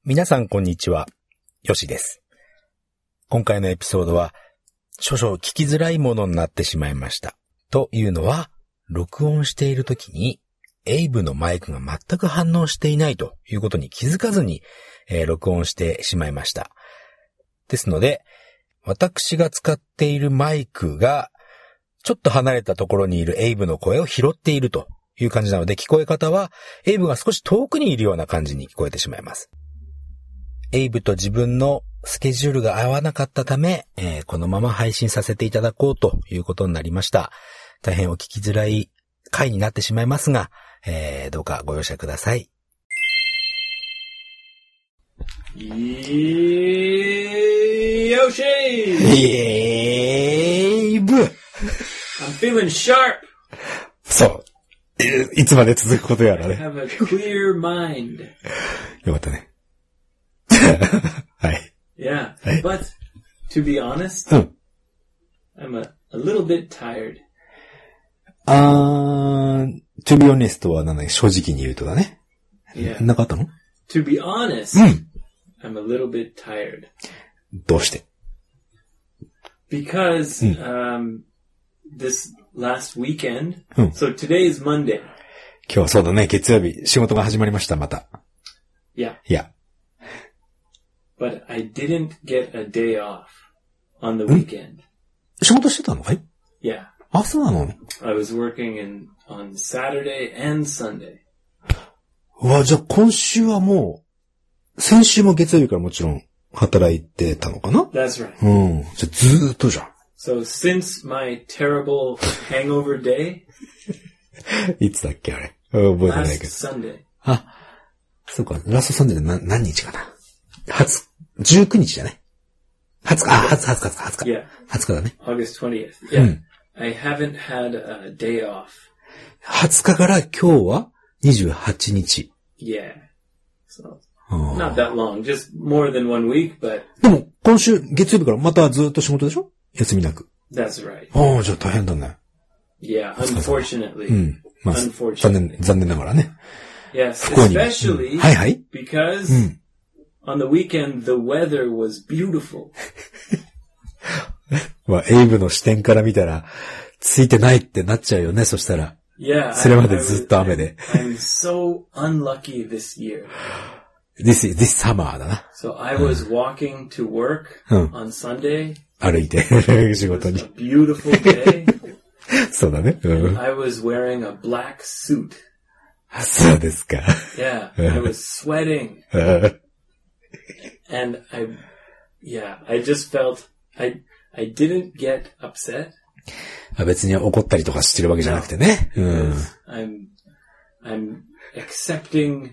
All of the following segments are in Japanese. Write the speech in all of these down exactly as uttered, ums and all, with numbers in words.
皆さんこんにちは、よしです。今回のエピソードは少々聞きづらいものになってしまいました。というのは、録音しているときにエイブのマイクが全く反応していないということに気づかずに、えー、録音してしまいました。ですので、私が使っているマイクがちょっと離れたところにいるエイブの声を拾っているという感じなので、聞こえ方はエイブが少し遠くにいるような感じに聞こえてしまいます。エイブと自分のスケジュールが合わなかったため、えー、このまま配信させていただこうということになりました。大変お聞きづらい回になってしまいますが、えー、どうかご容赦ください。 よしエイブ I'm feeling sharp. そう。いつまで続くことやらね。 I have a clear mind. よかったね。はい。 Yeah, はい。 but to be honest, うん。 I'm a, a little bit tired. あー、to be honest は何だっけ、正直に言うとだね。 Yeah. なかったの？ To be honest, うん。 I'm a little bit tired. どうして？ Because, um, this last weekend, うん。 so today is Monday. 今日はそうだね、月曜日、仕事が始まりました、また。 Yeah. いや。 But I didn't get a day off on the weekend. 仕事してたのかい？ Yeah. あ、そうなの？ I was working in, on Saturday and Sunday. うわ、じゃあ今週はもう、先週も月曜日からもちろん働いてたのかな？ That's right. うん。じゃあずーっとじゃん。 So since my terrible hangover day, いつだっけあれ。覚えてない last けど。 Sunday, あ、そうか、ラストサンデーで何、何日かな。はつ、じゅうくにちじゃね。はつか、あ、はつか、はつか、はつか。 yeah, はつかだね。 August twentieth. う Yeah, ん。 I haven't had a day off. はつかから今日はにじゅうはちにち。 Yeah. So あ not that long, just more than one week, but でも、今週月曜日からまたずっと仕事でしょ？休みなく。 that's right. ああ、じゃあ大変だね。 Yeah, unfortunately. うん。まあ、残 Unfortunately. 念、残念ながらね。 Yes, 不幸にも。 especially うんはいはい。 because うん。 on the weekend the weather was beautiful. まあ、エイブの視点から見たら、ついてないってなっちゃうよね、そしたら。 Yeah, それ I, ま I でずっ was, と雨で。 I'm so unlucky this year. this, this summer だな。 So I was walking to work うん。 on Sunday. 歩いて、仕 It 事 was に a。beautiful day. そうだね。うん。 I was wearing a black suit. そうですか。 Yeah, I was sweating. うん And I, yeah, I just felt, I, I didn't get upset. 別に怒ったりとかしてるわけじゃなくてね。うん。 I'm, I'm accepting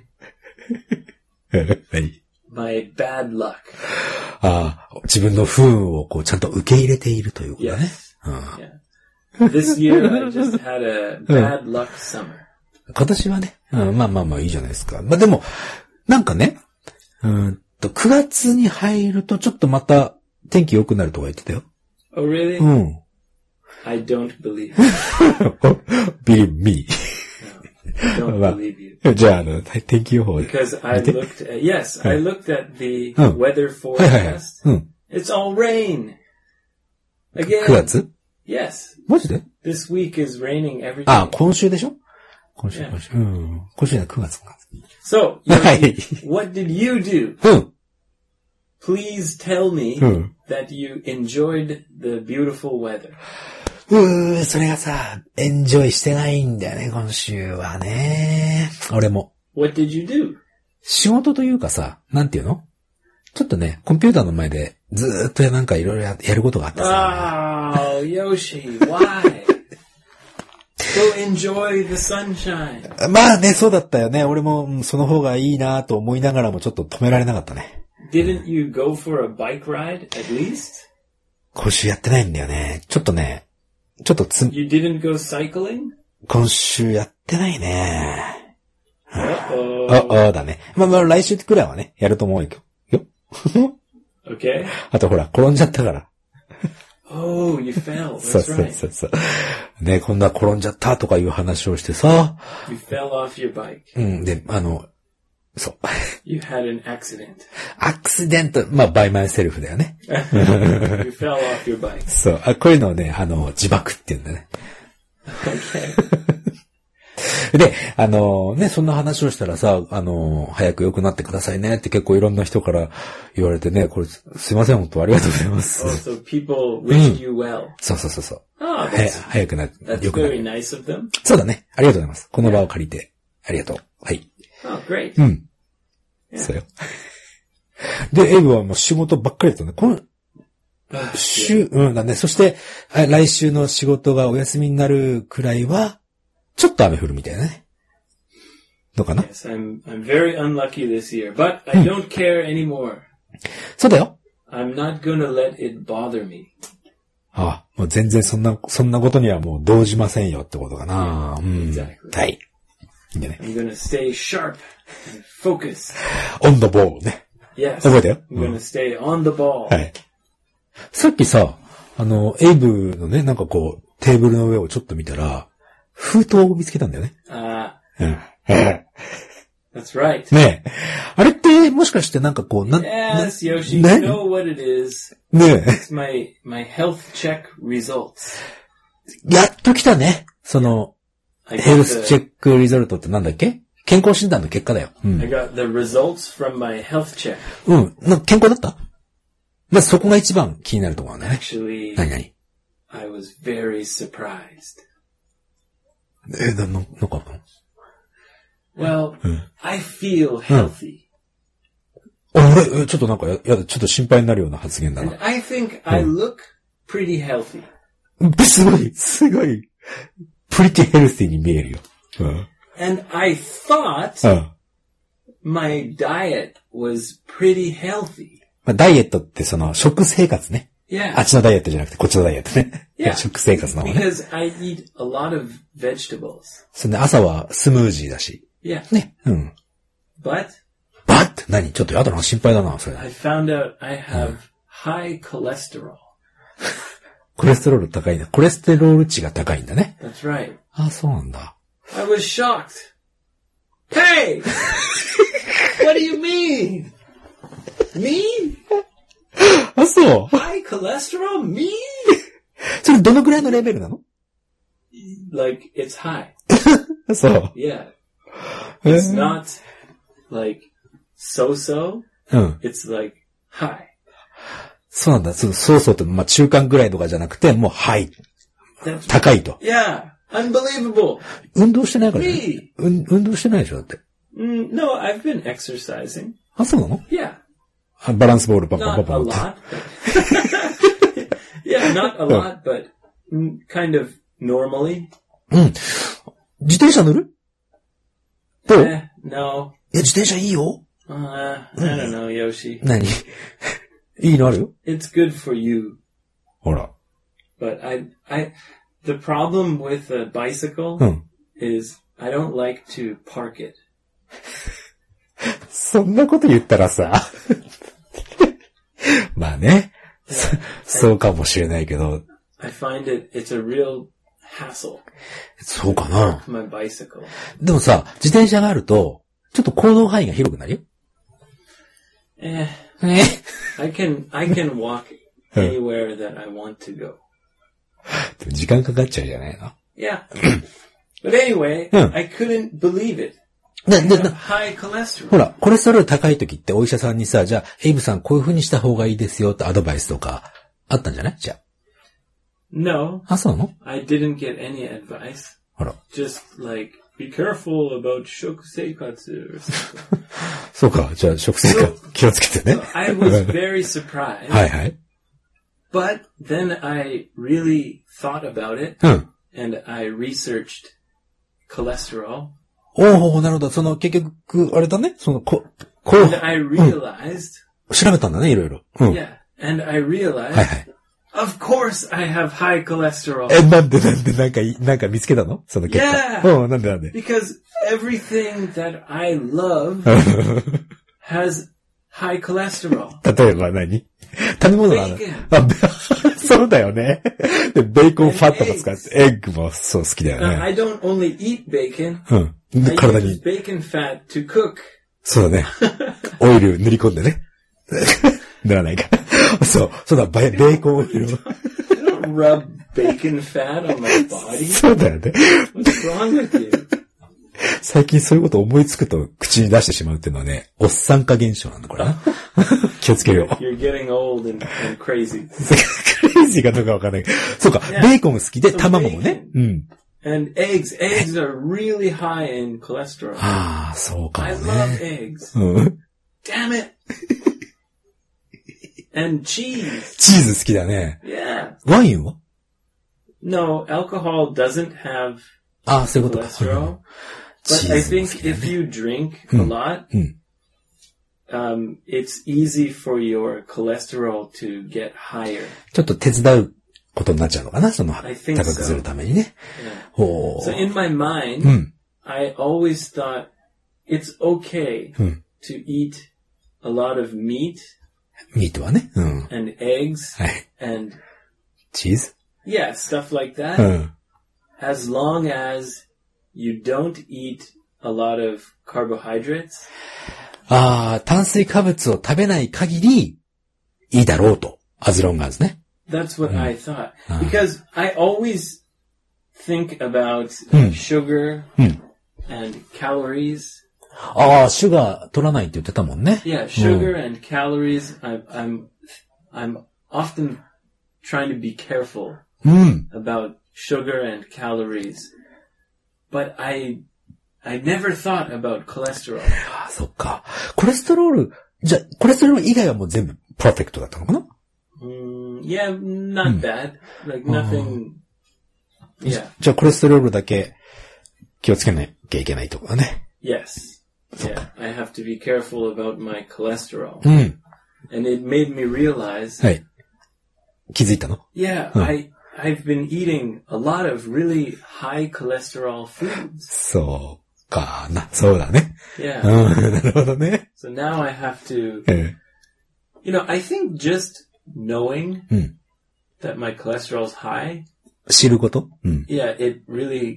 何？ my bad luck. ああ、自分の不運をこうちゃんと受け入れているということだね。 Yes. うん。 Yeah. This year I just had a bad luck summer. 今年はね、うん、まあまあまあいいじゃないですか。まあでも、なんかね、うーんと、くがつに入るとちょっとまた天気良くなるとか言ってたよ。 Oh, really? うん。 I don't believe it. believe me. No, I don't まあ believe you. じゃあ、あの、天気予報。 Because I 見て。 looked at, yes, I looked at the うん。 weather はいはいはい。 forecast. うん。 It's all rain. く Again. がつ？ Yes. マジで？ This week is raining every あ、 day. 今週でしょ？今週、 Yeah. 今週。うん。今週じゃない、くがつか。 So, はい。 what did you do? うん。 Please tell me うん。 that you enjoyed the beautiful weather. うー、それがさ、エンジョイしてないんだよね、今週はね。俺も。 What did you do? 仕事というかさ、なんていうの？ちょっとね、コンピューターの前でずーっとなんかいろいろやることがあってさ。 Oh, Yoshi, why? Go enjoy the sunshine. まあね、そうだったよね。俺もうんその方がいいなと思いながらもちょっと止められなかったね。 Didn't you go for a bike ride at least? 今週やってないんだよね。ちょっとね、ちょっとつ、 You didn't go cycling? 今週やってないね。 Uh-oh. あ、あだね。まあまあ来週くらいはね、やると思うよ。よ。 Okay. あとほら、転んじゃったから。 Oh, you fell. そう That's そう right. そうそう。ね、今度は転んじゃったとかいう話をしてさ。 You fell off your bike. うん、で、あの、 そう。 You had an accident. アクシデント、まあ、by myself だよね。 You fell off your bike. そう。あ、こういうのをね、あの、自爆って言うんだね。 Okay. で、あのね、そんな話をしたらさ、あの、早く良くなってくださいねって結構いろんな人から言われてね、これ、すいません、本当ありがとうございます。 Oh, so people wished you well. そうそうそうそう。 Oh, 早早くなって、 that's 良くなる。 very nice of them. そうだね。ありがとうございます。この場を借りて、ありがとう。はい。 Oh, great. うん。 Yeah. そうよ。で、エイブはもう仕事ばっかりだったね。この、週、うんだね。そして、来週の仕事がお休みになるくらいは、ちょっと雨降るみたいなね。どうかな？ Yes, I'm, I'm very unlucky this year, but I don't care anymore. そうだよ。 I'm not gonna let it bother me. ああ、もう全然そんな、そんなことにはもう動じませんよってことかな。うん。 Exactly. はい。いいんだね。 I'm gonna stay sharp and focus. on the ball ね。 Yes. 覚えたよ。 I'm gonna stay on the ball. はい。さっきさ、あの、エイブのね、なんかこう、テーブルの上をちょっと見たら、封筒を見つけたんだよね。 ああ。うん。 That's right. ねえ。あれってもしかしてなんかこう、な、 Yes, Yoshi, ね you know what it is. ねえ。 It's my, my health check results. やっと来たね。その、 I ヘル got スチェ the, ックリゾルトってなんだっけ？健康診断の結果だよ。うん。 I got the results from my health check. うん。な健康だった？まあ、そこが一番気になるところだね。 Actually, 何々？ I was very surprised. え、な、な、なんかあったの？ Well, I feel healthy. あれ、え、ちょっとなんかや、やだ、ちょっと心配になるような発言だ And な。 I think I look pretty healthy. すごい、すごい、プリティヘルシーに見えるよ。うん。 And I thought うん。 my diet was pretty healthy. まあ、ダイエットってその、食生活ね。 Yeah. あっちのダイエットじゃなくて、こっちのダイエットね。いや、 Yeah. 食生活の方ね。 Because I eat a lot of vegetables. そんで、朝はスムージーだし。 Yeah. ね。うん。 But バッ何ちょっとやだな、心配だな、それ。 I found out I have high cholesterol. コレステロール高いんだ。コレステロール値が高いんだね。 That's right. あ、そうなんだ。 I was shocked. Hey! What do you mean? Me? あ、そう。 High cholesterol? Me? それどのくらいのレベルなの？ Like, it's high. そう。 Yeah. え It's ー not like so-so. うん。 It's like high. そうなんだ。そうそうそうと、まあ、中間ぐらいとかじゃなくて、もう、はい。 That's 高いと。 Yeah. Unbelievable. 運動してないからね。 Me. うん、運動してないでしょだって。 Mm, no, I've been exercising. あ、そうなの？ Yeah. あバランスボールパンパンパ Not ンパ a ンって。 lot. But yeah, not a lot, but mm, kind of normally. うん。自転車乗る？どう？ Eh, no. いや、自転車いいよ。 Uh, I don't know, Yoshi. 何？いいのあるよ。 It's good for you. ほら。 But I, I, the problem with a bicycle うん。 is I don't like to park it. そんなこと言ったらさ。まあね。そそうかもしれないけど。 I find it, it's a real hassle. そうかな。 My bicycle. でもさ、自転車があると、ちょっと行動範囲が広くなるよ。 Eh, ね。 I can, I can walk anywhere that I want to go. でも時間かかっちゃうじゃないの。 Yeah. But anyway, Hmm. I couldn't believe it. な、 I な、 have な、 high cholesterol. ほら、コレステロール高い時ってお医者さんにさ、じゃあ、エイブさんこういう風にした方がいいですよってアドバイスとかあったんじゃない？じゃ No, あ。あ、そうなの？ I didn't get any advice. ほら。 Just like, be careful about shokuseikatsu or something. そうか。じゃあ、食生活気をつけてね。 I was very surprised. はいはい。 But then I really thought about it うん。 and I researched cholesterol おお、なるほど。その、結局、あれだね。その、こ、こ and う、 I realized, 調べたんだね、いろいろ。うん。 yeah, and I realized, はいはい。 of course I have high cholesterol え、なんでなんでなんかい、なんか見つけたの？その結果。 Yeah. うん、なんでなんで because everything that I love has high cholesterol. 例えば何？食べ物なの？ Bacon. あ、べそうだよね。で、ベーコンファットも使って、エッグもそう好きだよ Uh, ね。 I don't only eat bacon, うん。 I で体 use に。 bacon fat to cook そうだね。オイル塗り込んでね。塗らないか。そう。そうだ、ベーコンオイルを。 Rub bacon fat on my body? そうだよね。 What's wrong with you? 最近そういうこと思いつくと口に出してしまうっていうのはね、おっさん化現象なんだ、これな。気をつけよう。 You're getting old and, and crazy. クレイジーかどうかわかんないけど。そうか、yeah. ベーコン好きで、so 卵もね。うん。 And eggs. Eggs are really high in cholesterol. ああ、そうかもね。 I love eggs. うん。 Damn it! And cheese. チーズ好きだね。 Yeah. ワインは No, alcohol doesn't have ああ、そういうことか。 cholesterol. But I think if you drink a lot, うん。 Um, it's easy for your cholesterol to get higher. ちょっと手伝うことになっちゃうのかな、その、 I think 高くするためにね。 Yeah. ほう。 So in my mind, うん。 I always thought it's okay うん。 to eat a lot of meat ミートはね。うん。 and eggs はい。 and チーズ yeah, stuff like う that. ん。 As long as you don't eat a lot of carbohydrates. ああ、炭水化物を食べない限りいいだろうと。as long as ね。 That's what うん。 I thought. ああ Because I always think about うん。 sugar うん。 and calories. ああ、シュガー取らないって言ってたもんね。 Yeah, sugar and calories. I, I'm, I'm often trying to be careful うん。 about sugar and calories, but I, I never thought about cholesterol. ああ、そっか。コレステロール、じゃ、コレステロール以外はもう全部パーフェクトだったのかな Mm, yeah, not bad. Like nothing. Yeah. じゃあコレステロールだけ気をつけなきゃいけないところだね。 Yes. Yeah, I have to be careful about my cholesterol. うん。 And it made me realize, はい。気づいたの yeah, Huh. I, I've been eating a lot of really high cholesterol foods. そうかな。そうだね。 Yeah. うん、なるほどね。 So now I have to, え you know, I think just knowing え、うん。 that my cholesterol is high, 知ることうん。 yeah, it really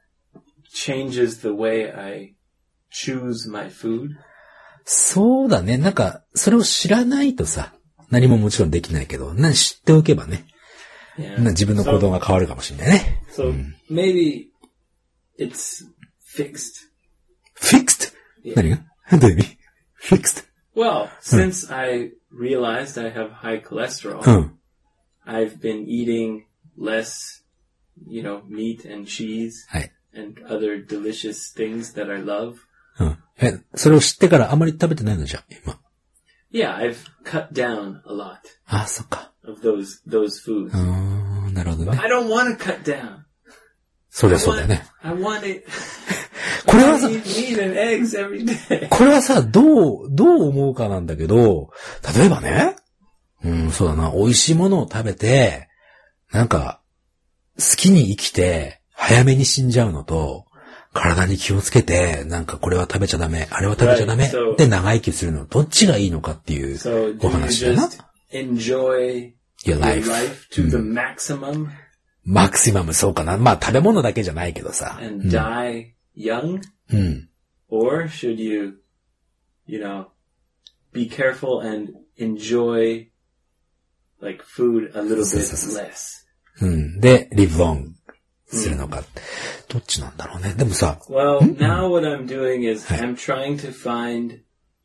changes the way I choose my food. そうだね。なんか、それを知らないとさ、何ももちろんできないけど、な知っておけばね、 Yeah. な自分の行動が変わるかもしれないね。 So maybe it's fixed. fixed? Yeah. 何がどういう意味 fixed? Well, since I realized I have high cholesterol, うん。 I've been eating less, you know, meat and cheese はい。 and other delicious things that I love. うん。え、それを知ってからあまり食べてないのじゃ、今。 Yeah, I've cut down a lot ああ、そっか。 of those those foods. うーん、なるほど But ね。 I don't want to cut down. そり I ゃそうだよ want, ね。 I want it. これ I はさ、 eat meat and eggs every day. これはさ、どう、どう思うかなんだけど、例えばね、うん、そうだな、美味しいものを食べて、なんか、好きに生きて、早めに死んじゃうのと、体に気をつけて、なんかこれは食べちゃダメ、あれは食べちゃダメ Right, so- で長生きするの、どっちがいいのかっていう So お do you 話だな。 just enjoy Your your life. life to the maximum マクシマムそうかな。まあ食べ物だけじゃないけどさ。 and die young? うん。 Or should you, you know, be careful and enjoy like food a little bit less? うん。で、live long するのか。どっちなんだろうね。でもさ、 Well, now what I'm doing is I'm trying to find,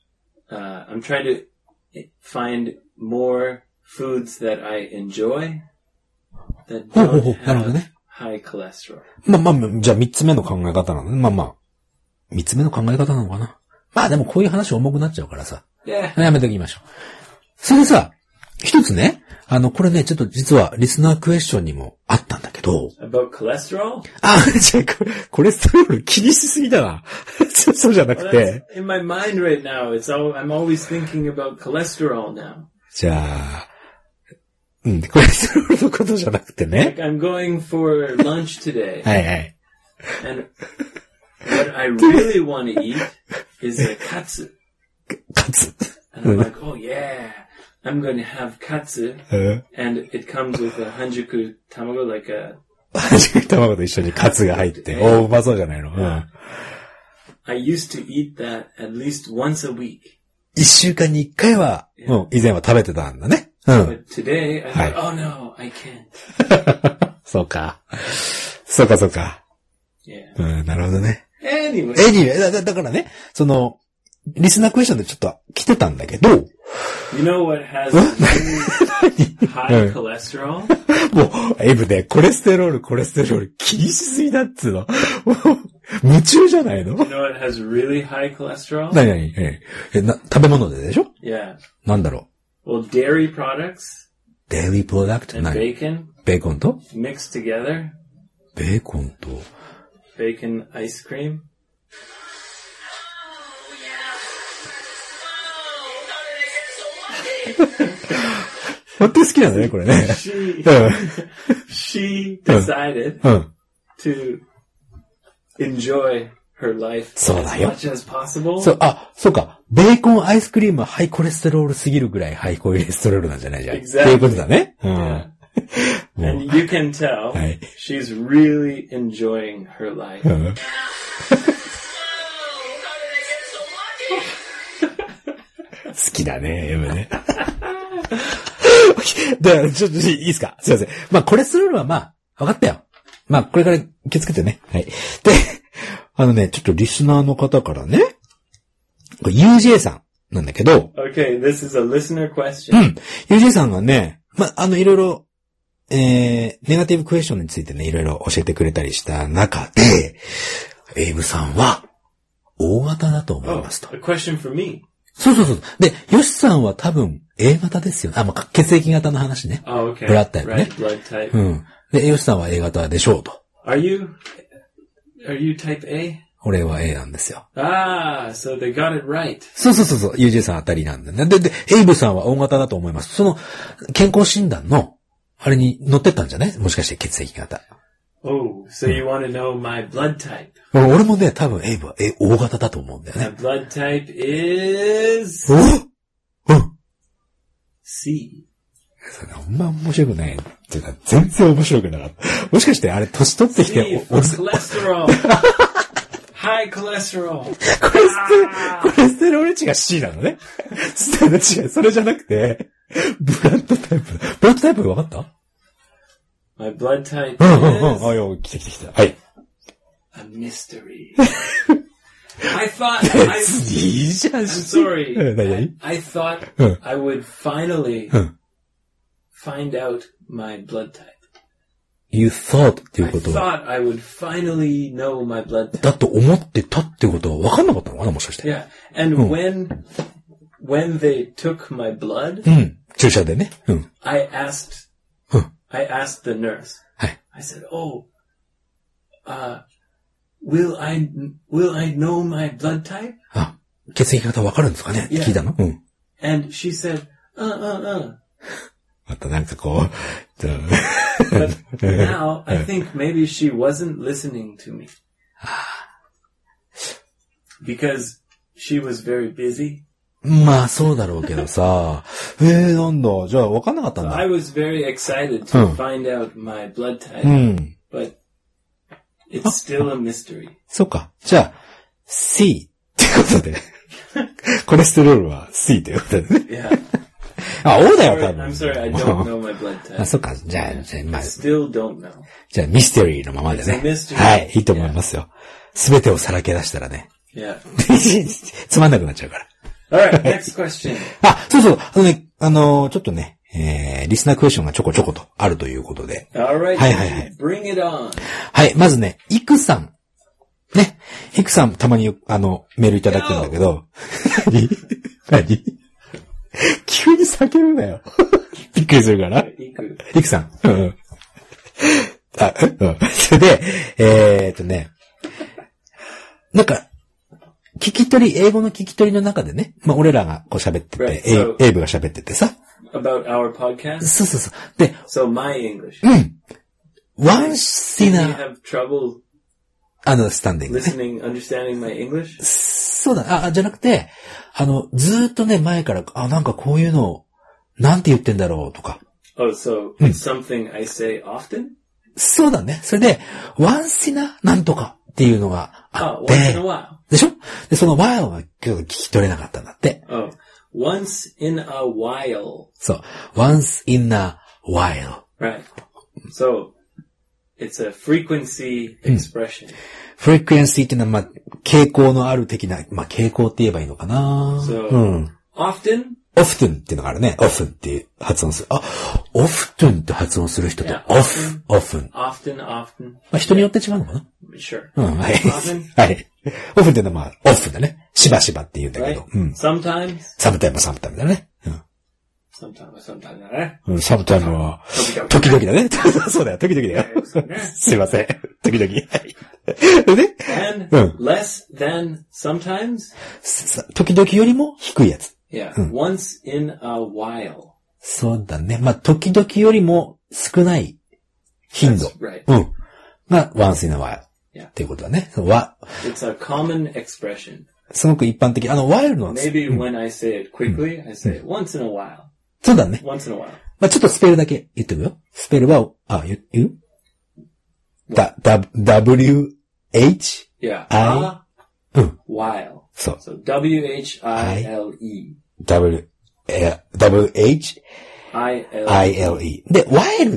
uh, I'm trying to find more foods that I enjoy that ほうほう don't ほう。なるほど have ね。 high cholesterol. まあまあ、じゃあ三つ目の考え方なのね。まあまあ。三つ目の考え方なのかな。まあでもこういう話重くなっちゃうからさ。 Yeah. やめておきましょう。それでさ、一つね、あの、これね、ちょっと実はリスナークエスチョンにもあったんだけど。 About cholesterol? あ、じゃあこれ、コレステロール気にしすぎだな。そうじゃな Well, く that's て。 in my mind right now. It's all, I'm always thinking about cholesterol now. じゃあ、うん、コレステロールのことじゃなくてね。 Like I'm going for lunch today. はいはい。 And what I really want to eat is a katsu. カツ。 And I'm like, oh yeah, I'm going to have katsu. うん。 And it comes with a hanjuku tamago, like a, 初め卵と一緒にカツが入って。おー、うまそうじゃないの。うん。 I used to eat that at least once a week. 一週間に一回は、もう以前は食べてたんだね。うん。 But today, I thought, はい。 oh no, I can't. そうか。そうかそうか。 Yeah. うん、なるほどね。 Anyway. エニー、だ、だだからね、その、リスナークエスチョンでちょっと来てたんだけど、 You know what has really high cholesterol? もう、エイブね、コレステロール、コレステロール気にしすぎだっつうの。もう夢中じゃないの？ You know what has really high cholesterol? 何何え、えな、食べ物ででしょ？ Yeah. なんだろう。 Well, dairy products デイリープロダクト and 何？ bacon ベーコンと mixed together. ベーコンと Bacon ice cream. 本当に好きなんだね、これね。 She, うん she decided うん。 to enjoy her life そう as だよ。 much as possible. そう、あ、そうか。ベーコンアイスクリームはハイコレステロールすぎるぐらいハイコレステロールなんじゃないじゃん。 Exactly. っていうことだね。うん。 Yeah. もう And you can tell はい。 she's really enjoying her life. うん。好きだね、エムね。で、ちょっといいですか？すいません。まあ、コレステロールはまあ、分かったよ。まあ、これから気をつけてね。はい。で、あのね、ちょっとリスナーの方からね、これ ユージェー さんなんだけど、 Okay, this is a listener う question. ん。ユージェー さんがね、まあ、あの、いろいろ、えー、ネガティブクエスチョンについてね、いろいろ教えてくれたりした中で、エイブさんは、大型だと思い Oh, ますと。 a question for me. そうそうそう。で、ヨシさんは多分 A 型ですよ。あ、まあ、血液型の話ね。 Oh, okay. Blood type, Right, ね。 blood type. うん。で、ヨシさんは A 型でしょうと。 Are you, are you type A? 俺は A なんですよ。 Ah, so they got it right. そうそうそうそう。ユージェー さんあたりなんだね。で、で、エイブさんは O 型だと思います。その、健康診断の、あれに載ってったんじゃない？もしかして血液型。 Oh, so you want to know my blood type? 俺もね、多分エイブは A、O 型だと思うんだよ My ね。 blood type is おうん。 C. それあんま面白くない。っていうか、全然面白くなかった。もしかしてあれ、年取ってき C て、 for お、 cholesterol. High cholesterol. コレステ、コレステロール値が C なのね。それ違う、それじゃなくて、ブラッドタイプ。ブラッドタイプ分かった？ My blood type うんうんうん。あ、 is よ、来て来て来て。はい。 a mystery. I thought I, いいじゃん。 I'm sorry. うん何 I, 々 I thought うん I would finally うん find out my blood type. You thought ってい I うことは、 thought I would finally know my blood type. だと思ってたってことは分かんなかったのかなもしかして。 Yeah. And when when they took my blood, うん。注射でね。うん。 I asked うん。 I asked the nurse. はい。 I said, "Oh, uh, will I will I know my blood type?" あ、血液型分かるんですかね？ Yeah. 聞いたの？うん。 And she said, "Uh, uh, uh." またなんかこう、 But now I think maybe she wasn't listening to me because she was very busy. まあそうだろうけどさ、えー、なんだ、じゃあ分かんなかったん I だ。 was very excited to Hmm. find out my blood type, うん。 but it's still a mystery. そうか。じゃあ、C ってことで。コレステロールは C ということでね。 Yeah. あ、O だよ、 Sorry, 多分。 I'm sorry, I don't know my blood あ、 type. そっか。じゃあ、じゃあ、まあ I、still don't know. じゃあ、ミステリーのままでね It's a mystery.。 はい、いいと思いますよ。すべてをさらけ出したらね。 Yeah. つまんなくなっちゃうから。 All right, next question. あ、そうそう。あのね、あのー、ちょっとね、えー、リスナークエスチョンがちょこちょことあるということで。 All right, Hi, hi, hi. bring it on. はい、まずね、イクさん。ね。イクさんたまによあの、メールいただくんだけど。何何急に叫ぶなよ。びっくりするから。イクさん。うん。あ、うん。それで、えーっとね、なんか、聞き取り、英語の聞き取りの中でね、まあ、俺らがこう喋ってて、 Right, エイ so- エイブが喋っててさ。 About our podcast? そうそうそう。で、 So my English. うん。once in Do you a have trouble understanding ね。 listening, understanding my English? そうだ、あ、じゃなくて、あの、ずーっとね、前から、あ、なんかこういうの、なんて言ってんだろうとか。 Oh, so it's something I say often? そうだね。それで、once in a なんとかっていうのがあっ Oh, て、 once in a while. でしょで、その while が聞き取れなかったんだって。 Oh, once in a while. そう。once in a while. Right. So, it's a frequency expression. frequency っていうのは、まあ、傾向のある的な、まあ、傾向って言えばいいのかな。 So, うん。 often? often っていうのがあるね。often っていう発音する。あ、often って発音する人と、 Yeah, off, often. Often, often. まあ、人によって違うのかな。 Sure. うん、はい。 often? はい。often っていうのはまあ、often だね。しばしばって言うんだけ Right? ど。うん。 Sometimes? sometime も sometime だね。うん。 Sometime, sometime だね。 うん、sometime は、時々だね。そうだよ、時々だよ。すいません。時々。はい。で And うん。 less than sometimes? さ時々よりも低いやつ。 Yeah. Once in a while. そうだね。まあ、時々よりも少ない頻度。 That's right. うん。が once in a while. Yeah. っていうことだね。わ、 It's a common expression. すごく一般的。あの、while の、 Maybe when I say it quickly, I say it once in a while. そうだね。 Once in a while. まあ、ちょっとスペルだけ言ってみよう。スペルは、あ、言う言うだ、だ、w, h, Yeah. I- A うん。 while. そう。 So W H I L E. w, え、w, h, I L E. I, l, e. で、while って、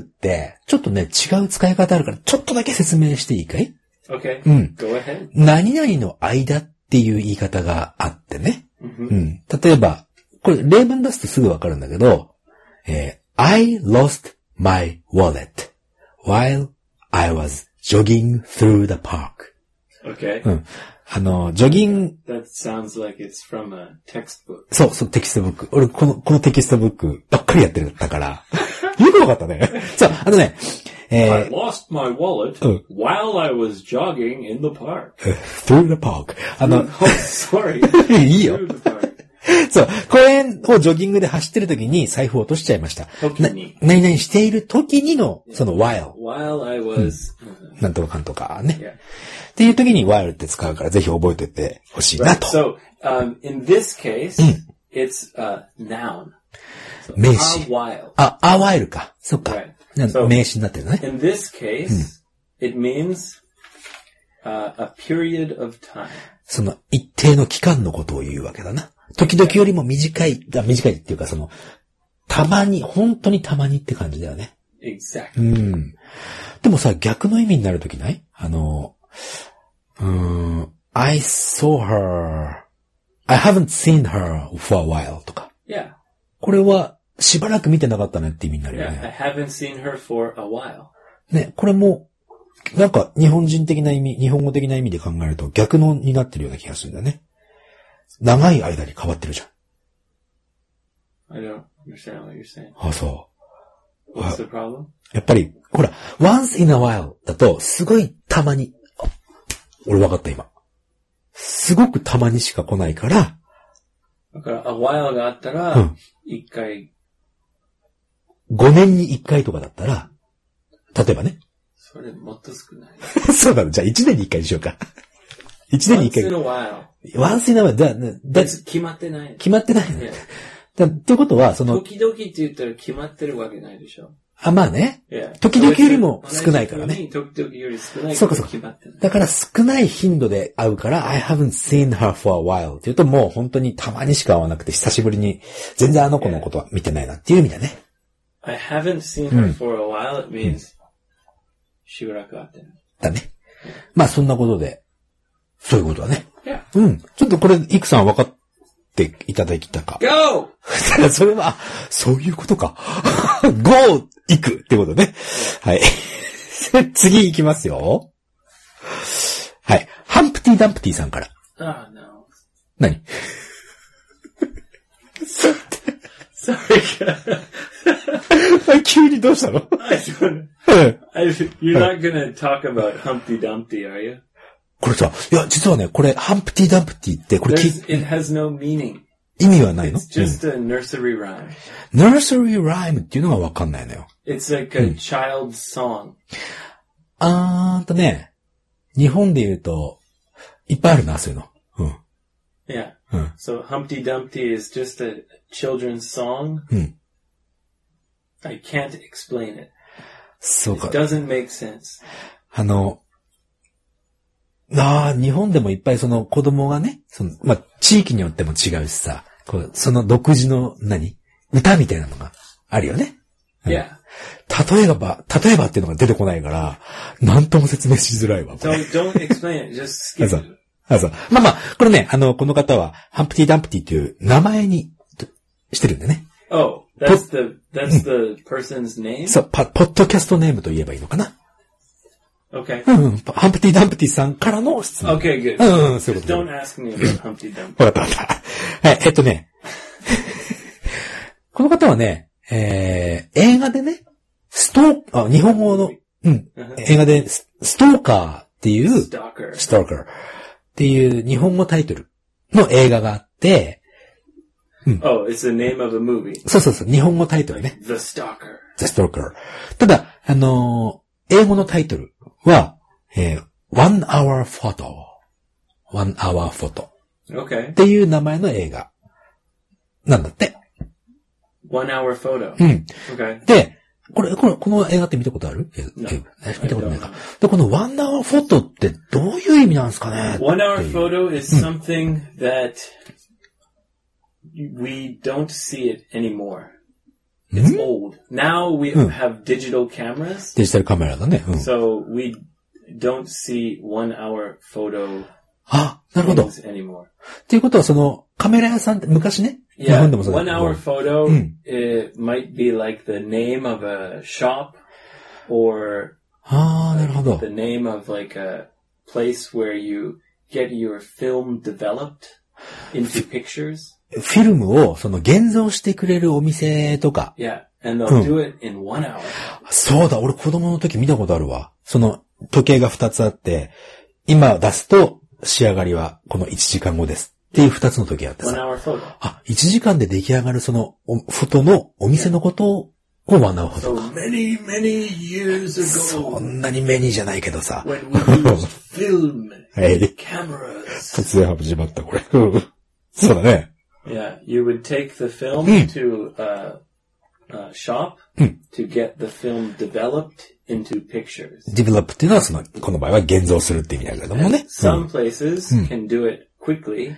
ちょっとね、違う使い方あるから、ちょっとだけ説明していいかい？ Okay. うん。 Go ahead. 何々の間っていう言い方があってね。 Mhm. うん。例えば、これ例文出すとすぐわかるんだけど、えー、I lost my wallet while I was jogging through the park. Okay. うん。あの、ジョギング、 That sounds like it's from a textbook. そう、そう、テキストブック。俺、この、このテキストブックばっかりやってるんだから。よくわかったね。そう、あのね、え I ー、 lost my wallet Oh. while I was jogging in the park. through the park. あの、 Oh, sorry. いいよ。 Through the park. そう、公園をジョギングで走ってる時に財布を落としちゃいました。な時に何々している時にの、その while。 While I was... なんとかかんとかね。 Yeah. っていう時に while って使うからぜひ覚えておいてほしいな Right. と。 So, um, in this case, it's a noun. So, 名詞。 a while. あ、a while か。そっか。 Right. な So- 名詞になってるのね。 In this case, it means uh, a period of time. その一定の期間のことを言うわけだな。時々よりも短い、あ短いっていうかその、たまに、本当にたまにって感じだよね。う Exactly. ん。でもさ、逆の意味になるときないあの、うーん、I saw her, I haven't seen her for a while とか。 Yeah. これはしばらく見てなかったねって意味になるよ Yeah. I ね。 haven't seen her for a while. ね、これも、なんか日本人的な意味、日本語的な意味で考えると逆のになってるような気がするんだよね。長い間に変わってるじゃん。 I don't understand what you're saying. あ、そ What's the problem? う。やっぱり、ほら、once in a while だと、すごいたまに、あ俺わかった今。すごくたまにしか来ないから、 だから、a while があったらうん、 一回、 ごねんにいっかいとかだったら、例えばね。 それもっと少ない。 そうなの。じゃあいちねんにいっかいにしようか。いちねんにいっか Once い in。a while. once in a while だ、だ、 別に決まってない。 決まってないのね Yeah. だっていうことは、その、 時々って言ったら決まってるわけないでしょ。 あ、まあね。 Yeah. 時々よりも少ないからね。 同じ時々より少ないからそうかそうか決まってない。 だから少ない頻度で会うから、I haven't seen her for a while って言うともう本当にたまにしか会わなくて久しぶりに全然あの子のことは見てないなっていう意味だね。 I haven't seen her for a while, it means しばらく会ってない。 だね。まあそんなことで、そういうことだね。 Yeah. うん。ちょっとこれ、イクさん分かっていただきたか。 Go! それは、あそういうことか。Go! 行くってことね。はい。次行きますよ。はい。ハンプティ・ダンプティさんから。 Oh, no. 何 Sorry. 急にどうしたの I don't, I, you're not gonna talk about Humpty Dumpty, are you? これさ、いや、実はね、これ、ハンプティ・ダンプティって、これき There's, it has no meaning. 意味はないの It's just a nursery rhyme. うん、?nursery rhyme っていうのがわかんないのよ。 It's like a child's song. あーんとね、日本で言うと、いっぱいあるな、そういうの。うん。 Yeah. うん。 So Humpty Dumpty is just a children's song. うん。 I can't explain it. そうか It。doesn't make sense. あの、 ああ、日本でもいっぱいその子供がね、その、まあ、地域によっても違うしさ、こうその独自の何歌みたいなのがあるよね。 うん、yeah. 例えば、例えばっていうのが出てこないから、なんとも説明しづらいわ。 So don't explain it, just skip it. あ、そう。まあまあ、これね、あの、この方は、ハンプティ・ダンプティという名前にしてるんでね。 Oh, that's the, that's the person's name? そう、ポッドキャストネームと言えばいいのかな。 Okay. うん、ハンプティ・ダンプティさんからの質問。 Okay, good. うん、うん、そういうこと。 Don't ask me about Humpty Dumpty. わかったわかった。はい、えっとね。この方はね、えー、映画でね、ストー、あ、日本語の、うん、映画でス、ストーカーっていう、 ストーカー。 ストーカーっていう日本語タイトルの映画があって、 うん、Oh, it's the name of a movie. そうそうそう、日本語タイトルね。 The Stalker. The Stalker. ただ、あのー、英語のタイトルは、えー、One Hour Photo. One Hour Photo.Okay. っていう名前の映画なんだって。 One Hour Photo. うん。 Okay. で、これ、これ、この映画って見たことある？ No, 見たことないか。で、この One Hour Photo ってどういう意味なんですかね？ One Hour Photo is something that we don't see it anymore. It's old. Now we have digital cameras. デジタルカメラだね。うん、 so we don't see one hour photo あ、なるほど。 anymore. っていうことはそのカメラ屋さんって昔ね。 Yeah, 日本でもそうだけど。One hour photo、うん、it might be like the name of a shop or ああ、なるほど。 the name of like a place where you get your film developed into pictures. フィルムをその現像してくれるお店とか。 Yeah, and they'll do it in one hour. そうだ、俺子供の時見たことあるわ。その時計が二つあって、今出すと仕上がりはこのいちじかんごです。っていう二つの時計あってさ。 one hour photo. あ、いちじかんで出来上がるそのフォトのお店のことをワンアワーフォト。 So many, many years ago. そんなにメニーじゃないけどさ。 When we used film and cameras. 突然始まったこれ。そうだね。 Yeah, you would take the film to a, a shop to get the film developed into pictures. Develop っていうのはその、この場合は現像するって意味だけどもね。 Some places can do it quickly.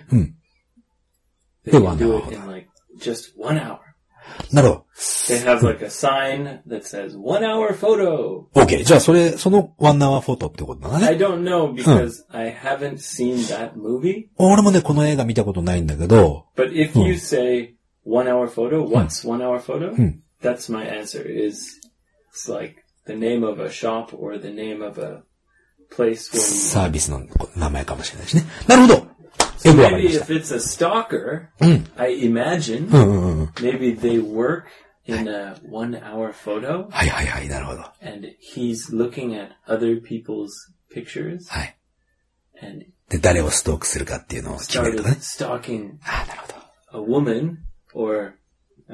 They can do it in like just one hour. なるほど。 They have like a sign that says one hour photo. OK. じゃあそれ、その one hour photo ってことだね。 I don't know because I haven't seen that movie. 俺もね、この映画見たことないんだけど。 But if you say one hour photo, what's one hour photo? That's my answer is it's like the name of a shop or the name of a place where you... サービスの名前かもしれないしね。なるほど。 So maybe if it's a stalker, I imagine maybe they work in a one hour photo. はいはいはい、なるほど。 And he's looking at other people's pictures. はい。 And で、誰をストークするかっていうのを決めるとかね。 stalking あ、なるほど。a woman or a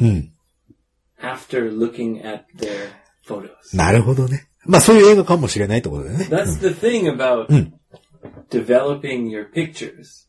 man、after looking at their photos. なるほどね。まあそういう映画かもしれないってことだよね。 That's the thing about、developing your pictures.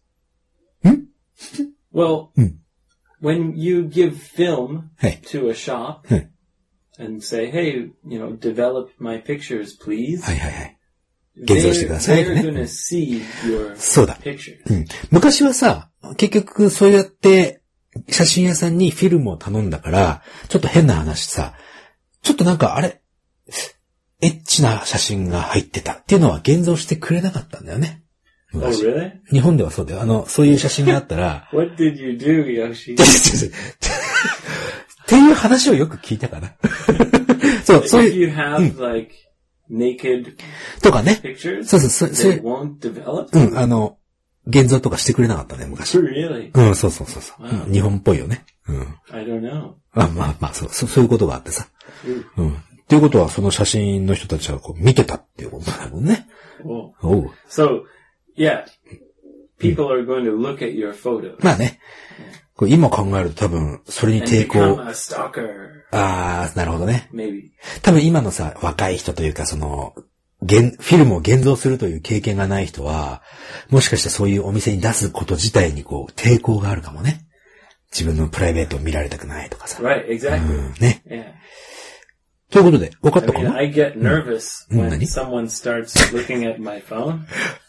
Well, when you give film to a shop and say, hey, you know, develop my pictures, please. はいはいはい。現像してくださいね。 They're gonna see your そうだ。 pictures. うん。昔はさ、結局そうやって写真屋さんにフィルムを頼んだから、ちょっと変な話さ、ちょっとなんかあれ、エッチな写真が入ってたっていうのは現像してくれなかったんだよね。 Oh, really? 日本ではそうだよ。あの、そういう写真があったら。 What did you do, Yoshi? っていう話をよく聞いたかな。そう、そういう。 If you have, like, naked とかね。 pictures, そうそう、そう。 they won't develop? うん、あの、現像とかしてくれなかったね、昔。 Really? うん、そうそうそうそう、wow. うん。日本っぽいよね。うん。 I don't know. あ、まあまあ、そう、そういうことがあってさ。うん。っていうことは、その写真の人たちはこう見てたっていうことだもんね。 Oh. Oh. So, yeah, people are going to look at your photos. まあね。これ今考えると多分、それに抵抗。 And become a stalker. ああ、なるほどね。 Maybe. 多分今のさ、若い人というか、その、現、フィルムを現像するという経験がない人は、もしかしたらそういうお店に出すこと自体にこう、抵抗があるかもね。自分のプライベートを見られたくないとかさ。 Right, exactly. うん、ね。 Yeah. ということで、分かったか I な mean, I get nervous、うん、when 何 someone starts looking at my phone.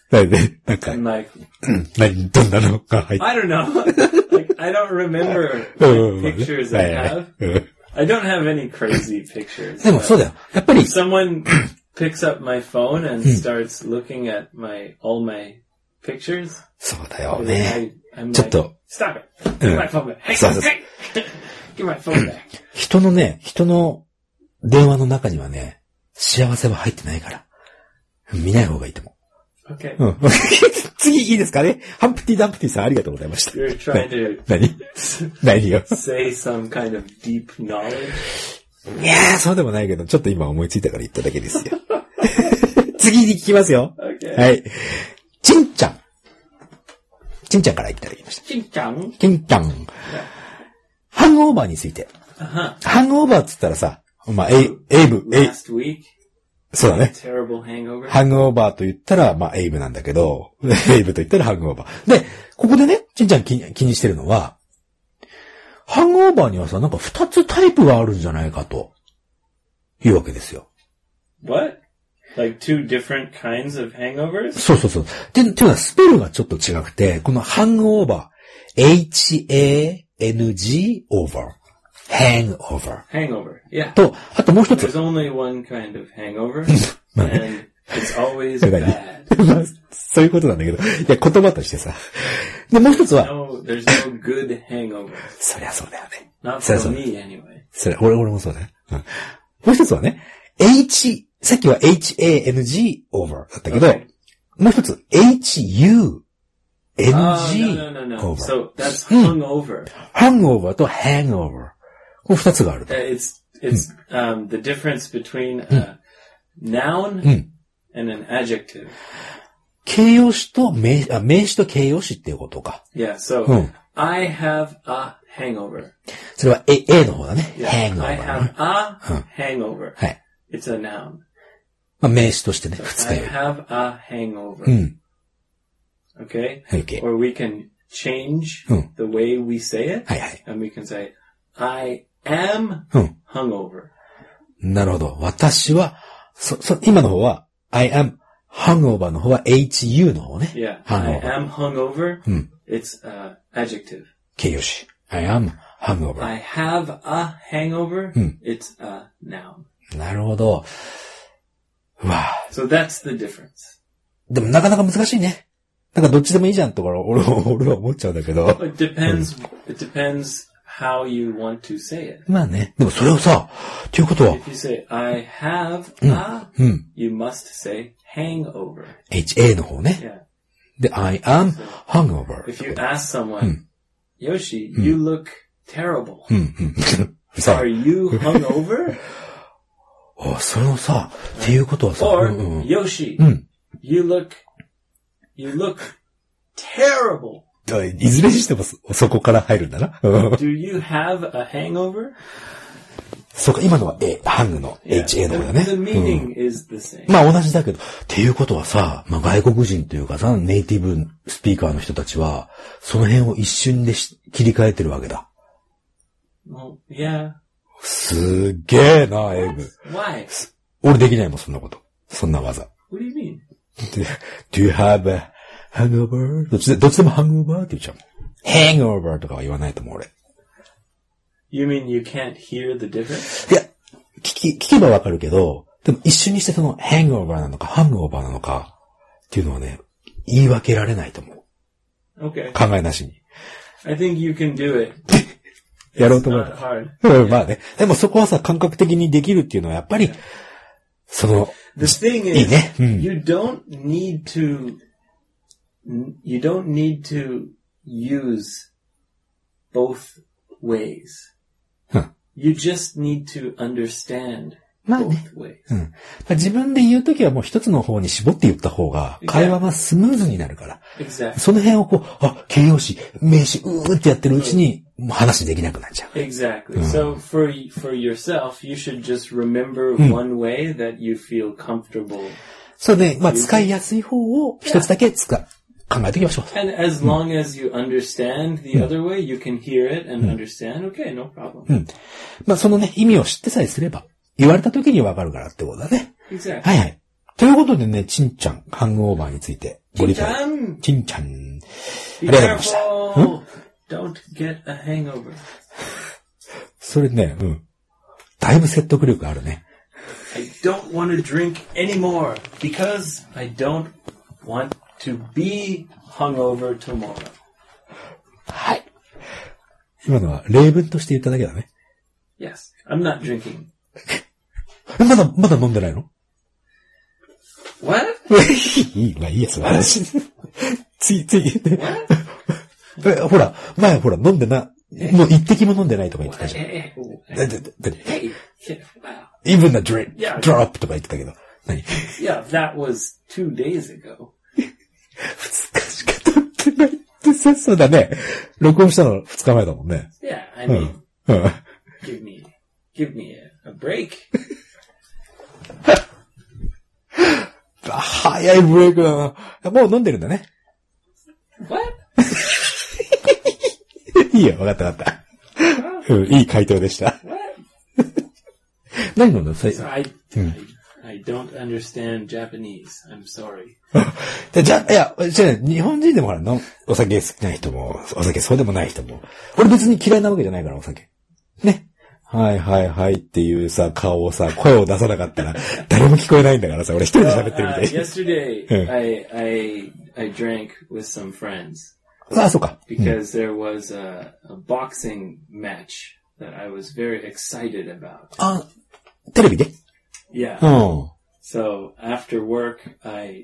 だよね。なんか、 And like, 何、どんなのが入って I don't know. Like, I don't remember うん what pictures は I いはい have. うん I don't have any crazy pictures. でもそうだよ。やっぱり If、someone picks up my phone and starts looking at my, all my pictures, そうだよ then ね。 I, I'm ちょっ like, と、 stop it. Give my phone back. Hey, そうそうそう hey, give my phone back. 人のね、人の電話の中にはね、幸せは入ってないから。見ない方がいいと思 Okay. う。うん。次いいですかね。ハンプティ・ダンプティさんありがとうございました。 You're trying to 何何よ。 say some kind of deep knowledge. いやー、そうでもないけど、ちょっと今思いついたから言っただけですよ。次に聞きますよ。 Okay. はい。ちんちゃん。ちんちゃんからいただきました。 Ching-chong. ちんちゃん。ハングオーバーについて。 Uh-huh. ハングオーバーって言ったらさ、まあ、エイ、エイブ、エイ、 Last week, そうだね。 terrible hangover. ハングオーバーと言ったら、まあ、エイブなんだけど、エイブと言ったらハングオーバー。で、ここでね、ちんちゃん気に気にしてるのは、ハングオーバーにはさ、なんか二つタイプがあるんじゃないかと、いうわけですよ。 What? Like two different kinds of hangovers? そうそうそう。で、っていうのはスペルがちょっと違くて、このハングオーバー、エイチエーエヌジー over, hangover Hangover. Yeah. と、あともう一つ。 There's only one kind of hangover, まあ and ね it's always だからね bad. まあそういうことなんだけど、いや、言葉としてさ。で、もう一つは、 No, there's no good hangover. そりゃそうだよね。 Not そりゃ for そう me anyway. それ、俺、俺もそうだね。うん。もう一つはね、H、さっきは エイチエーエヌジー over だったけど、 Okay. もう一つ エイチユーエヌジ Oh, ー no, no, no, no. over。 So that's hungover. hangover と hangover。この二つがあると Uh,。It's, it's, um, the difference between a noun うん。 and an adjective. 形容詞と名、あ、名詞と形容詞っていうことか。 Yeah, so Hmm. I have a hangover. それは A, A の方だね。 Yeah, hangover I な have a hangover. はい。 It's a noun. まあ、名詞としてね、二日 I 酔い。 have a hangover. うん。 Okay? OK。 Or we can change Hmm. the way we say it. はいはい。 And we can say, I am うん。 hungover. なるほど。私は、そ、そ、今の方は、I am hangover の方は エイチユー の方ね。 Yeah. I hangover。 am hungover. Hmm. It's uh, adjective. 形容詞。I am hangover。 I have a hangover. Hmm. It's a noun. なるほど。うわぁ。 So that's the difference. でもなかなか難しいね。なんかどっちでもいいじゃんとか、俺は、俺は思っちゃうんだけど。 It depends. It depends how you want to say it. まあね。でもそれをさ、ということは、 If you say, I have a, うん。 you must say hangover. エイチエー の方ね。 Yeah. で、I am hangover. If you ask someone, Yoshi, you look terrible. うん、うん。さ Are you hungover? あ、それをさ、っていうことはさ、 Or うんうん、 Yoshi, うん。 you look, you look terrible. いずれにしてもそ、そこから入るんだな。うん Do you have a hangover? そうか、今のは A、ハングの エイチエー の方だね。 The, the うん meaning is the same. まあ同じだけど、っていうことはさ、まあ外国人というかさ、ネイティブスピーカーの人たちは、その辺を一瞬でし切り替えてるわけだ。 Well, yeah. すっげえな、エイブ。 Why? 俺できないもん、そんなこと。そんな技。 What do you mean? Do you have a hangover? どっちで、どっちでも hangover って言っちゃうもん。hangover とかは言わないと思う、俺。 You mean you can't hear the difference? いや、聞き、聞けばわかるけど、でも一瞬にしてその hangover なのか hangover なのかっていうのはね、言い分けられないと思う。 Okay. 考えなしに。 I think you can do it. やろうと思う Not。hard. うんまあね。でもそこはさ、感覚的にできるっていうのはやっぱり、その、 The thing いい is, ね。うん。 you don't need to, you don't need to use both ways. うん。 You just need to understand まあね。 both ways. うん。自分で言うときはもう一つの方に絞って言った方が、会話がスムーズになるから。 Exactly. その辺をこう、あ、形容詞、名詞、うーってやってるうちに、もう話できなくなっちゃう。 Exactly. So for for yourself, you should just remember one way that you feel comfortable. そうね、まあ使いやすい方を一つだけ使う。考えておきましょう。 And as long as you understand the other way, you can hear it and understand. Okay, no problem. まあそのね、意味を知ってさえすれば、言われた時にわかるからってことだね。 Exactly. はいはい。ということでね、ちんちゃん、ハングオーバーについてご理解。ちんちゃん。ありがとうございました。 Don't get a hangover. それね、うん。だいぶ説得力あるね。 I don't want to drink anymore because I don't want to be hungover tomorrow. はい。今のは例文として言っただけだね。 Yes, I'm not drinking. まだ、まだ飲んでないの？ What? いい、まあいいや、その話。つい、つい。ほら、前ほら、飲んでな、もう一滴も飲んでないとか言ってたじゃん。Even the drip, drop とか言ってたけど。何？ Yeah, that was two days ago. 二日しか経ってないってさ、そうだね。録音したの二日前だもんね。 Yeah, I mean, うん。 give me, give me a, a break. 早いブレイクだな。もう飲んでるんだね。 What? いいよ、わかったわかった。うん、いい回答でした。何飲んだの？ So I, I, I don't understand Japanese. I'm sorry. じゃ、いや、じゃ日本人でもほらの、お酒好きな人も、お酒そうでもない人も。俺別に嫌いなわけじゃないから、お酒。ね。はいはいはいっていうさ、顔をさ、声を出さなかったら、誰も聞こえないんだからさ、俺一人で喋ってるみたい。 Uh, yesterday, I, I, I drank with some friends. ああ、そうか。 Because there was a, a boxing match that I was very excited about. あ、テレビで？ Yeah. うん。 So after work, I,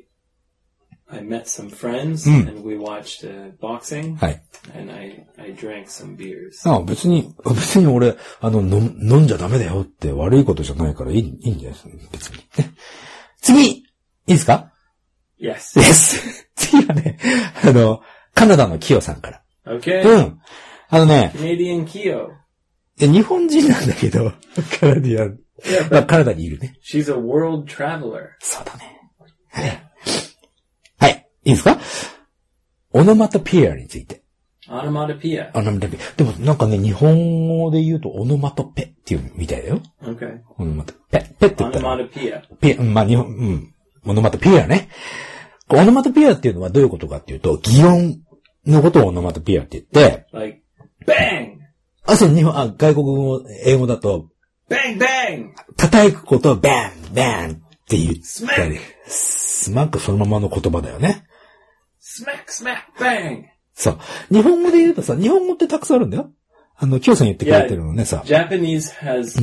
I met some friends and we watched uh, boxing. はい。 And I, I drank some beers. ああ、別に、別に俺、あの、飲、飲んじゃダメだよって悪いことじゃないからいい、いいんじゃないですか、別に。ね。次いいですか？ Yes. Yes. 次はね、あの、カナダのキヨさんから。 Okay. うん。あのね。 Canadian Kyo. 日本人なんだけど、カナディアン。 Yeah, まあ、カナダにいるね。 She's a world traveler. そうだね。はい。はい。いいですか？オノマトピアについて。 オノマトピア。 オノマトピア。でもなんかね、日本語で言うとオノマトペっていうみたいだよ。 Okay. オノマトペ。ペって言ったら。 オノマトピア。 ピア、まあ日本、うん。オノマトピアね。オノマトピアっていうのはどういうことかっていうと、擬音のことをオノマトピアって言って、 like, bang! あ、そう、日本、あ、外国語、英語だと、 bang, bang! 叩くことをバン、バンって言ったり、 smack! スマックそのままの言葉だよね。 smack, smack, bang! そう。日本語で言うとさ、日本語ってたくさんあるんだよ。あの、キヨさん言ってくれてるのね、さ。 Japanese has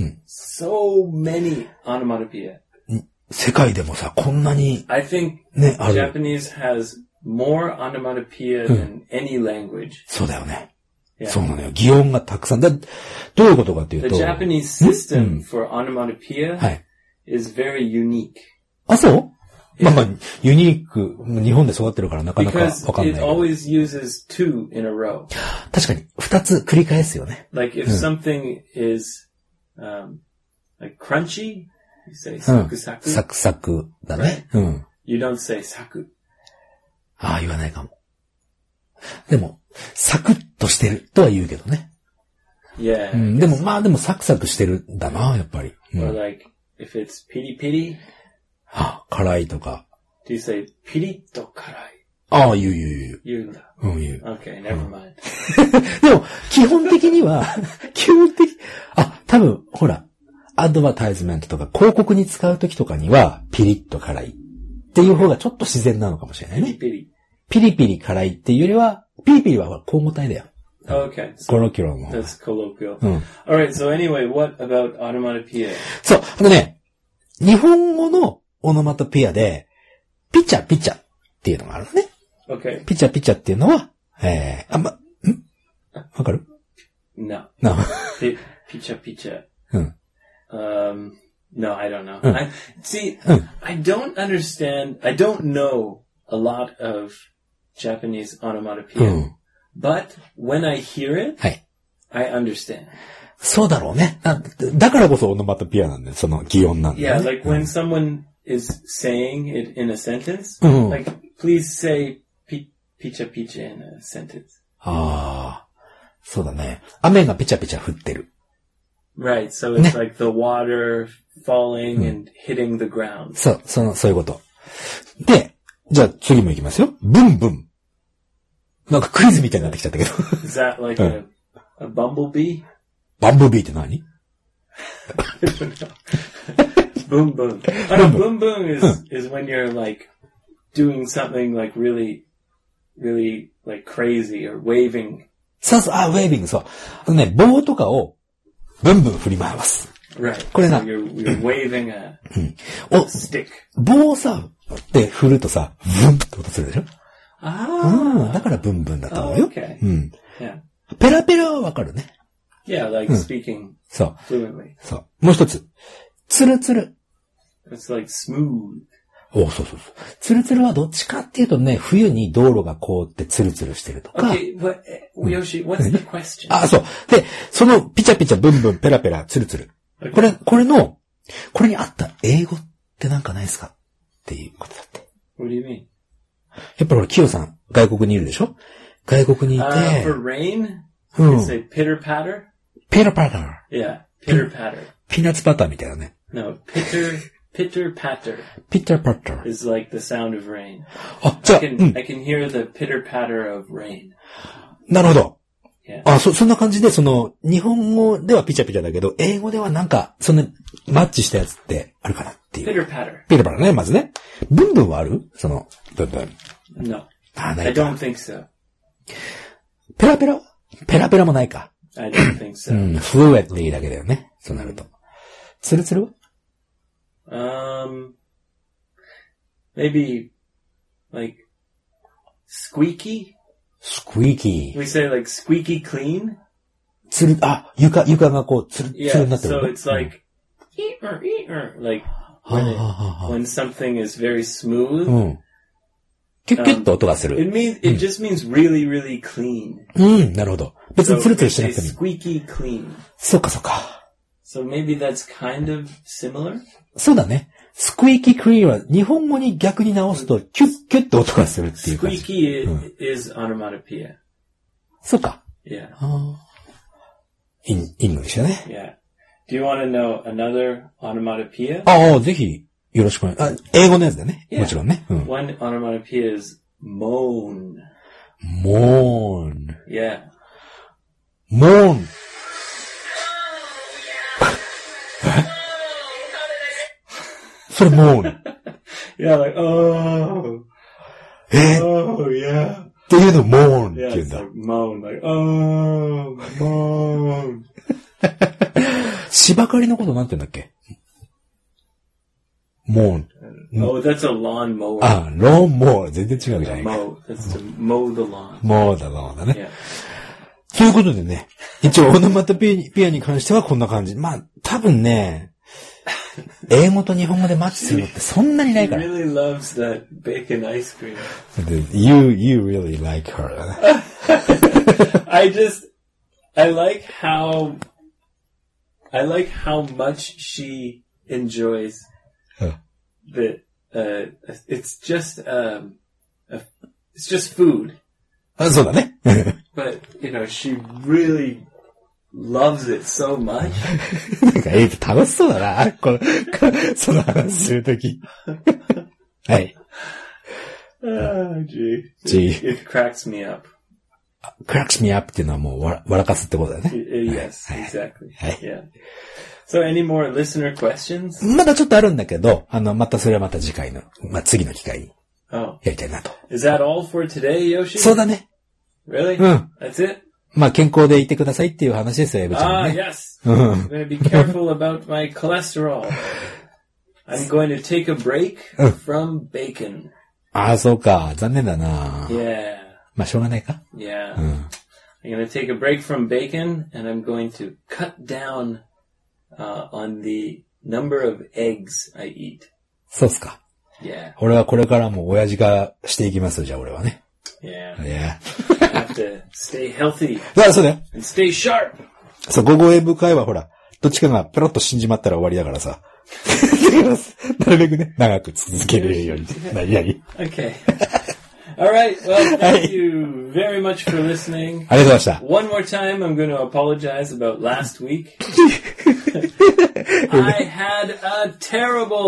so many onomatopoeia. 世界でもさ、こんなに、 I think ね、ある。 Japanese has more onomatopoeia than any language. そうだよね。 Yeah. そうなのよ。擬音がたくさん。だ、どういうことかっていうと。 The Japanese system for onomatopoeia はい。 is very unique. あ、そうまあまあ、ユニーク、日本で育ってるからなかなかわかんない。 Because it always uses two in a row. 確かに、二つ繰り返すよね。 Like if something is, um, like crunchy, you say サクサク。 サクサクだね。うん。 You don't say サク。 ああ、言わないかも。でも、サクッとしてるとは言うけどね。 Yeah. うん、でも、まあでもサクサクしてるんだな、やっぱり。うん、 Or like, if it's ピリピリ。 あ、辛いとか。 Do you say ピリッと辛い？ ああ、言う言う言う。 言うんだ。 うん、言う。 Okay, never mind. でも、基本的には、基本的、あ、多分、ほら、アドバタイズメントとか広告に使うときとかには、ピリッと辛いっていう方がちょっと自然なのかもしれないね。 ピリピリ。 ピリピリ辛いっていうよりは、ピリピリは交互体だよ。 Okay. So コロキュロの方。 That's colloquial. うん。 Alright, so anyway, what about onomatopoeia? そう、あのね、日本語のオノマトピアで、ピチャピチャっていうのがあるのね。 Okay. ピチャピチャっていうのは、えー、あ、ま、んわかる？ No. No. Picha picha. うん。 Um, no, I don't know. Mm. I, see, Mm. I don't understand, I don't know a lot of Japanese onomatopoeia. Mm. But when I hear it, はい。 I understand. そうだろうね。だ、だからこそオノマトピアなんだよ。その擬音なんだよ、ね。 Yeah, like when someone is saying it in a sentence, Mm. like, please say pi- picha picha in a sentence. ああ、そうだね。雨がピチャピチャ降ってる。 Right, so it's like the water falling and hitting the ground. そう、その、そういうこと。で、 じゃあ次も行きますよ。ブンブン。なんかクイズみたいになってきちゃったけど。 Is that like a, a bumblebee? バンブビーって何 I don't know. Boom boom. I know boom boom is, is when you're like doing something like really, really like crazy or waving. そうそう、あ、ウェービング、そう。あのね、棒とかをブンブン振り回す。 Right. これな。 So you're, you're waving a, お a stick. 棒をさ、で振るとさ、ブンって音するでしょ？ ああ。だからブンブンだと思う Oh, よ。 okay. うん。 Yeah. ペラペラはわかるね。 Yeah, like speaking そう。 fluently. そう。もう一つ。ツルツル。 It's like smooth. おそうそうそう。ツルツルはどっちかっていうとね、冬に道路が凍ってツルツルしてるとか。 Okay, but uh, Yoshi, what's the question? あ、そう。で、そのピチャピチャブンブンペラペラツルツル。これ、これの、これに合った英語ってなんかないですかっていうことだって。 What do you mean? やっぱりキヨさん、外国にいるでしょ？外国にいて。 Uh, for rain, う you ん。 say pitter patter. ペラパラ。 Yeah, pitter patter. ピーナッツバターみたいなね。 No, pitter, pitter patter ピッターパッター。 is like the sound of rain. あ、じゃ I あ、う can, ん。 I can hear the pitter patter of rain. なるほど。 Yeah. あ、そ、そんな感じで、その、日本語ではピチャピチャだけど、英語ではなんか、その、マッチしたやつってあるかなっていう。 Pitter patter. ピラパラね、まずね。ブンブンはある？その、ブンブン。 No, あ、な I いか。 don't think so. ペラペラペラペラもないか。 I don't think う so. ん、fluently だけだよね。そうなると。ツルツルは Um, maybe like squeaky. squeaky. We say like squeaky clean. つる、あ、床、床がこう、つる、つる Yeah, になってる so の。 it's like eeter, eeter, like は when, あ it, はあはあ when something is very smooth. うん。キュッキュッと音がする。 It means it just means really, really clean. うん、なるほど。別 So にツルツ we ルしてな say くてもいい。 squeaky clean. そうかそうか。 So maybe that's kind of similar. そうだね。スクイーキークリーンは日本語に逆に直すとキュッキュッと音がするっていう感じ。 Squeaky i- is onomatopoeia. そうか。 Yeah, イン、イングリッシュだね。 yeah. Do you want to know another onomatopoeia? ああ、ぜひ、よろしくお願い。あ、英語のやつだね。 Yeah. もちろんね。うん。 One onomatopoeia is moan. モーン。 Yeah. モーン。それモーン。 Yeah, like, oh, えー、 oh, yeah. っていうのモーンって Yeah, 言うん it's だ。 like moan, like, oh, moan. 芝刈りのことなんて言うんだっけ？モーン。 Oh, that's a lawn mower. あ、ローンモー。全然違うじゃないか。 Mow. That's to mow the lawn. モーだ、モーだね。 Yeah. ということでね、一応オノマトペアに関してはこんな感じ。まあ、多分ね、英語と日本語でマッチするのってそんなにない He から。 really loves that bacon ice cream. You, you really like her. I just, I like how, I like how much she enjoys Huh. the, uh, it's just, um, a, it's just food. あ、そうだね。 But, you know, she really loves it so much. なんか、えー、楽しそうだな。この、その話するとき。はい。 Oh, gee. Gee. It, it cracks me up. cracks me up っていうのはもうわら、笑かすってことだよね。 Y- Yes, exactly. Hey. Yeah. So any more listener questions? まだちょっとあるんだけど、あの、またそれはまた次回の、まあ、次の機会に Oh. やりたいなと。 Is that all for today, Yoshi? そうだね。 Really? Mm. That's it? まあ、健康でいてくださいっていう話ですよ、エブちゃん Ah, もね。 yes. I'm going to be careful about my cholesterol. I'm going to take a break from bacon. ああ、そうか。残念だな。 Yeah. まあ、しょうがないか。 Yeah. うん。 I'm going to take a break from bacon and I'm going to cut down uh, on the number of eggs I eat. そうっすか。 Yeah. 俺はこれからも親父がしていきますじゃあ俺はね。 Yeah. いや。 I have to stay healthy あ、そうだよ。 and stay sharp. そう、午後英語会はほら、どっちかがペロッと死んじまったら終わりだからさ。なるべくね、長く続けるように。何々。 Okay. All right. Well, thank you very much for listening. ありがとうございました。 One more time, I'm going to apologize about last week. I had a terrible,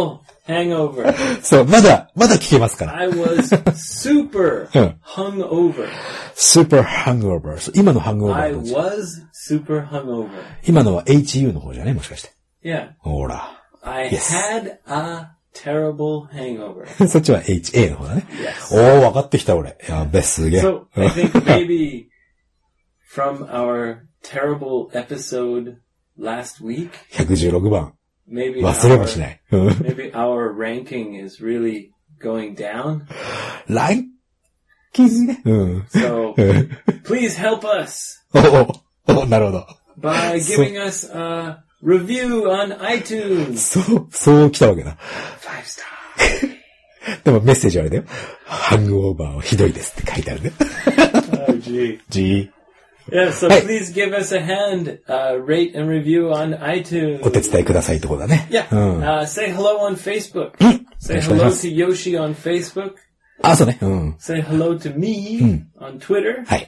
hangover. そう、まだ、まだ聞けますから。 I was super hungover. super hungover. 今の hungover. I was super hungover. 今のは エイチユー の方じゃねもしかして。 Yeah. ほら。 I yes. had a terrible hangover. そっちは エイチエー の方だね。 Yes. おー、分かってきた俺。やべ、すげえ。 So, I think maybe from our terrible episode last week, ひゃくじゅうろくばん。 maybe 忘れもしない。 maybe our ranking is really going down. ランキングね。うん。 So, please help us. おお、なるほど。 By giving us a review on iTunes. そう、そう来たわけだ。 Five star. でもメッセージあれだよ。ハングオーバーはひどいですって書いてあるね。 oh, gee. Gee. Yeah, so please give us a hand, uh, rate and review on iTunes. お手伝いくださいってことだね。 Yeah. うん、uh, say hello on Facebook. Say hello to Yoshi on Facebook. あ、そうね。うん。 Say hello to me、うん、on Twitter. はい。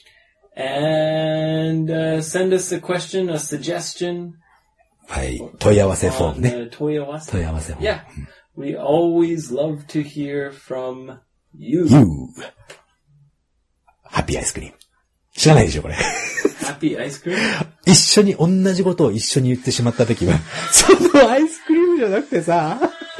And、uh, send us a question, a suggestion. はい。問い合わせフォームね。 問い合わせ。 問い合わせフォーム。 Yeah. We always love to hear from you. You. ハッピーアイスクリーム。知らないでしょ、これ。 ハッピーアイスクリーム一緒に、同じことを一緒に言ってしまったときは、そのアイスクリームじゃなくてさ、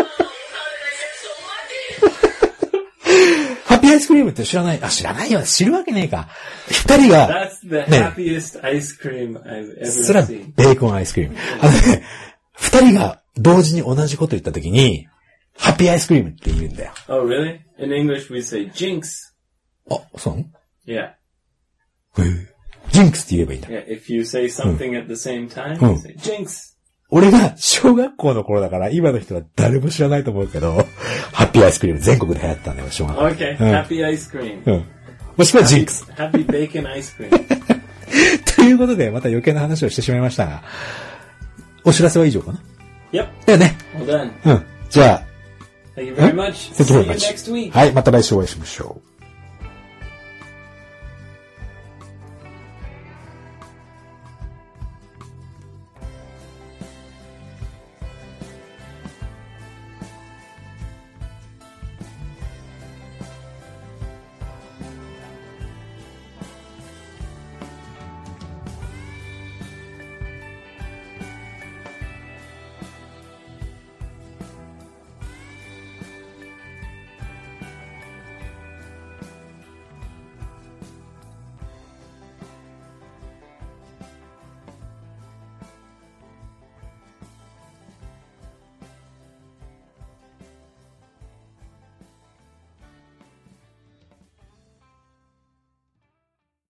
ハッピーアイスクリームって知らない、あ、知らないよ、知るわけねえか。二人が、 That's the happiest ice cream I've ever seen. それはベーコンアイスクリーム。あのね、二人が同時に同じこと言ったときに、ハッピーアイスクリームって言うんだよ。 Oh, really? In English we say jinx. あ、そう？ Yeah. ジンクスって言えばいいんだ。 Yeah, if you say something、うん、at the same time, you say jinx. 俺が小学校の頃だから今の人は誰も知らないと思うけど、ハッピーアイスクリーム全国で流行ったんだよ、小学校。 Okay, うん、ハッピーアイスクリーム。 うん。もしくはジンクス。 ハッピーベーコンアイスクリーム。 ということで、また余計な話をしてしまいましたが、お知らせは以上かな？ Yep. だよね。 Well done. うん。じゃあ、 Thank you very much. Thank you very much. See you next week. はい、また来週お会いしましょう。